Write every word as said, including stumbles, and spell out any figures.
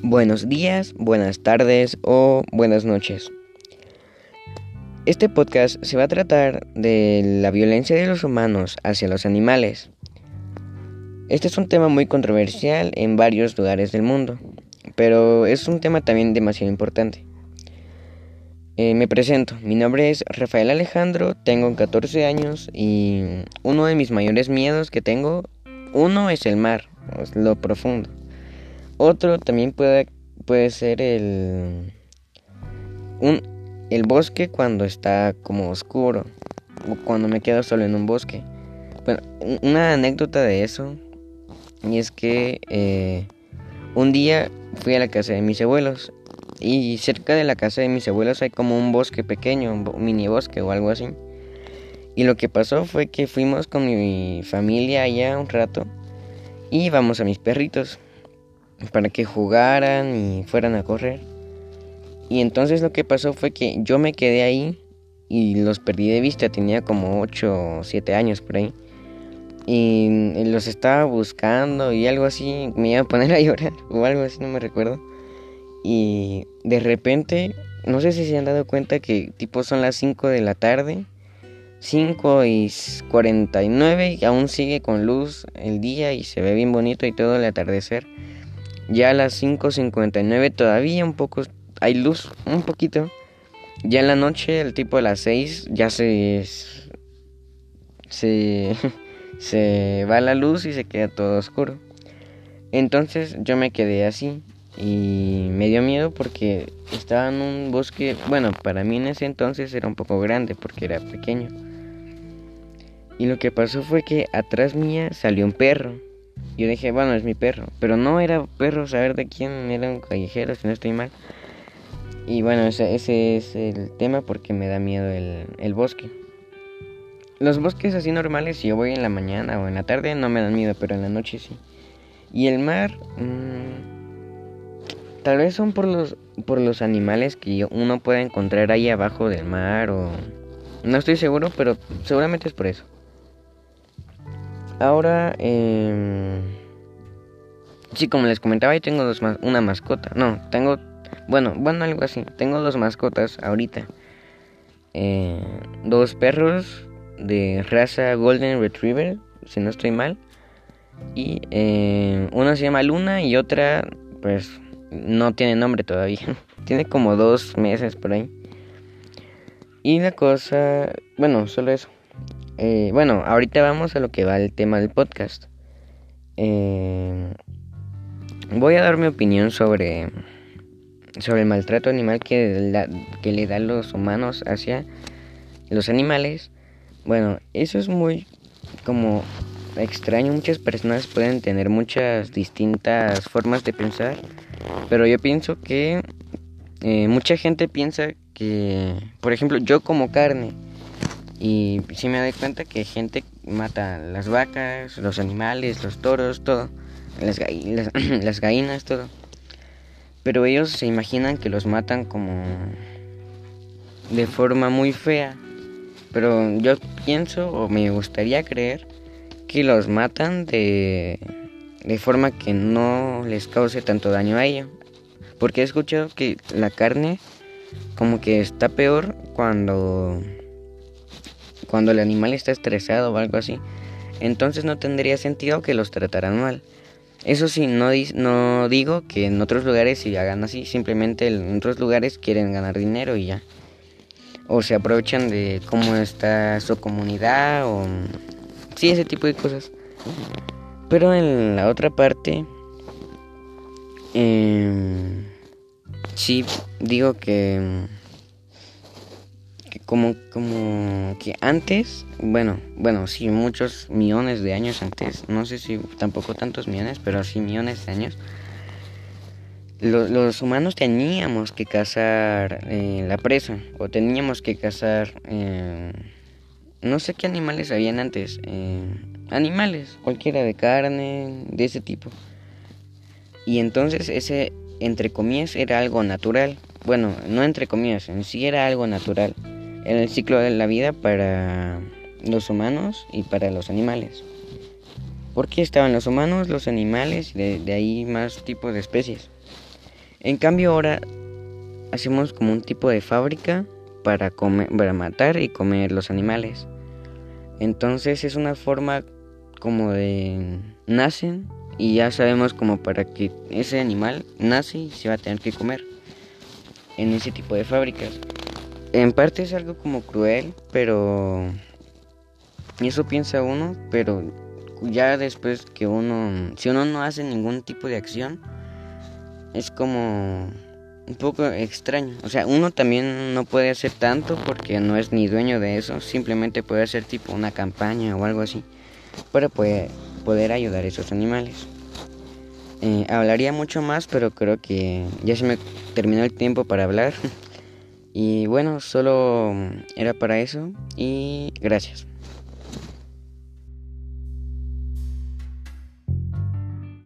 Buenos días, buenas tardes o buenas noches. Este podcast se va a tratar de la violencia de los humanos hacia los animales. Este es un tema muy controversial en varios lugares del mundo, pero es un tema también demasiado importante. Eh, me presento, mi nombre es Rafael Alejandro, tengo catorce años y uno de mis mayores miedos que tengo, uno es el mar, es lo profundo. Otro también puede, puede ser el, un, el bosque cuando está como oscuro, o cuando me quedo solo en un bosque. Bueno, una anécdota de eso, y es que eh, un día fui a la casa de mis abuelos, y cerca de la casa de mis abuelos hay como un bosque pequeño, un mini bosque o algo así. Y lo que pasó fue que fuimos con mi familia allá un rato, y íbamos a mis perritos para que jugaran y fueran a correr. Y entonces lo que pasó fue que yo me quedé ahí y los perdí de vista. Tenía como ocho o siete años por ahí. Y los estaba buscando y algo así. Me iba a poner a llorar o algo así, no me recuerdo. Y de repente, no sé si se han dado cuenta que tipo son las cinco de la tarde, cinco y cuarenta y nueve, y aún sigue con luz el día y se ve bien bonito y todo el atardecer. Ya a las cinco cincuenta y nueve todavía un poco hay luz, un poquito. Ya en la noche, el tipo de las seis, ya se se se va la luz y se queda todo oscuro. Entonces yo me quedé así y me dio miedo porque estaba en un bosque, bueno, para mí en ese entonces era un poco grande porque era pequeño. Y lo que pasó fue que atrás mía salió un perro. Yo dije, bueno, es mi perro, pero no era perro, saber de quién, era un callejero, si no estoy mal. Y bueno, ese, ese es el tema porque me da miedo el, el bosque. Los bosques así normales, si yo voy en la mañana o en la tarde, no me dan miedo, pero en la noche sí. Y el mar, mmm, tal vez son por los, por los animales que uno puede encontrar ahí abajo del mar o... No estoy seguro, pero seguramente es por eso. Ahora, eh, sí, como les comentaba, yo tengo dos ma- una mascota. No, tengo, bueno, bueno, algo así. Tengo dos mascotas ahorita. Eh, dos perros de raza Golden Retriever, si no estoy mal. Y eh, una se llama Luna y otra, pues, no tiene nombre todavía. Tiene como dos meses por ahí. Y la cosa, bueno, solo eso. Eh, bueno, ahorita vamos a lo que va el tema del podcast. Eh, voy a dar mi opinión sobre, sobre el maltrato animal que, la, que le dan los humanos hacia los animales. Bueno, eso es muy como extraño. Muchas personas pueden tener muchas distintas formas de pensar, pero yo pienso que eh, mucha gente piensa que, por ejemplo, yo como carne. Y sí me doy cuenta que gente mata las vacas, los animales, los toros, todo, las, gall- las, las gallinas, todo. Pero ellos se imaginan que los matan como de forma muy fea. Pero yo pienso o me gustaría creer que los matan de, de forma que no les cause tanto daño a ellos. Porque he escuchado que la carne como que está peor cuando... cuando el animal está estresado o algo así. Entonces no tendría sentido que los trataran mal. Eso sí, no, di- no digo que en otros lugares sí hagan así. Simplemente en otros lugares quieren ganar dinero y ya. O se aprovechan de cómo está su comunidad o... sí, ese tipo de cosas. Pero en la otra parte... Eh, sí, digo que... que como como que antes, bueno, bueno, sí, muchos millones de años antes, no sé si tampoco tantos millones, pero sí millones de años, lo, los humanos teníamos que cazar eh, la presa, o teníamos que cazar, eh, no sé qué animales habían antes, eh, animales, cualquiera de carne, de ese tipo. Y entonces ese, entre comillas, era algo natural. Bueno, no entre comillas, en sí era algo natural en el ciclo de la vida para los humanos y para los animales. Porque estaban los humanos, los animales y de, de ahí más tipos de especies. En cambio ahora hacemos como un tipo de fábrica para comer, para matar y comer los animales. Entonces es una forma como de nacen y ya sabemos como para que ese animal nace y se va a tener que comer en ese tipo de fábricas. En parte es algo como cruel, pero eso piensa uno, pero ya después que uno, si uno no hace ningún tipo de acción, es como un poco extraño. O sea, uno también no puede hacer tanto porque no es ni dueño de eso, simplemente puede hacer tipo una campaña o algo así para poder, poder ayudar a esos animales. Eh, hablaría mucho más, pero creo que ya se me terminó el tiempo para hablar. Y bueno, solo era para eso y gracias.